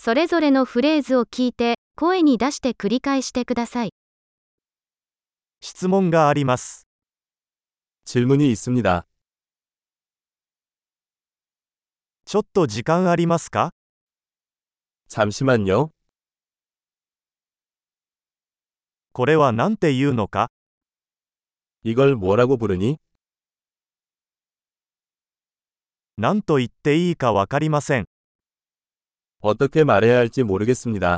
それぞれのフレーズを聞いて、声に出して繰り返してください。 質問があります。 질문이 있습니다. ちょっと時間ありますか？ 잠시만요. これは何て言うのか？ 이걸 뭐라고 부르니? 何と言っていいかわかりません。 어떻게 말해야 할지 모르겠습니다.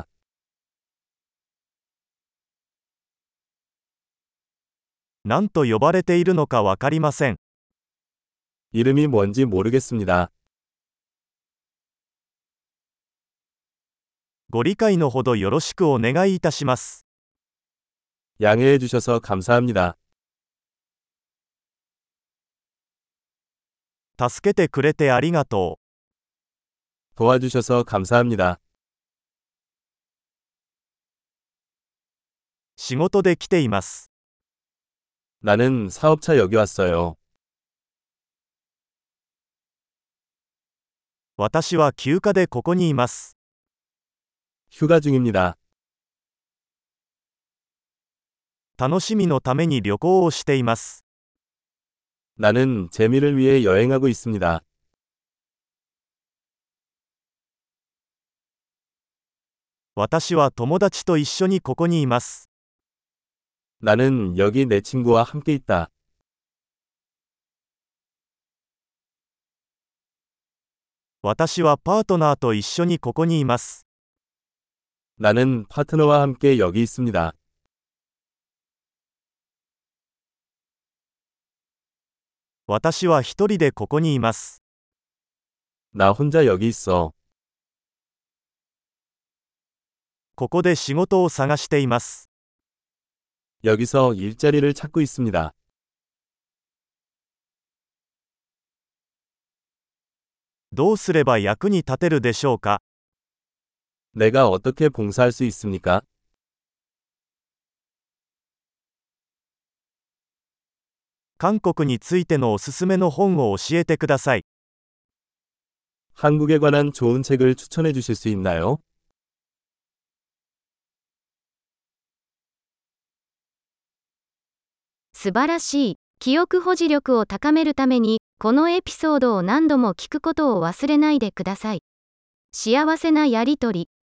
何と呼ばれているのかわかりません。 이름이 뭔지 모르겠습니다. ご理解のほどよろしくお願いいたします。 양해해 주셔서 감사합니다. 助けてくれてありがとう。 도와주셔서 감사합니다. 仕事で来ています。 나는 사업차 여기 왔어요. 私は休暇でここにいます。 휴가 중입니다. 楽しみのために旅行をしています。 나는 재미를 위해 여행하고 있습니다. 私は友達と一緒にここにいます。 나는 여기 내 친구와 함께 있다. 私はパートナーと一緒にここにいます。 나는 파트너와 함께 여기 있습니다. 私は一人でここにいます。 나 혼자 여기 있어. ここで仕事を探しています。 여기서 일자리를 찾고 있습니다. どうすれば役に立てるでしょうか？ 내가 어떻게 봉사할 수 있습니까? 韓国についてのおすすめの本を教えてください。 한국에 관한 좋은 책을 추천해 주실 수 있나요? 素晴らしい。記憶保持力を高めるために、このエピソードを何度も聞くことを忘れないでください。幸せなやりとり。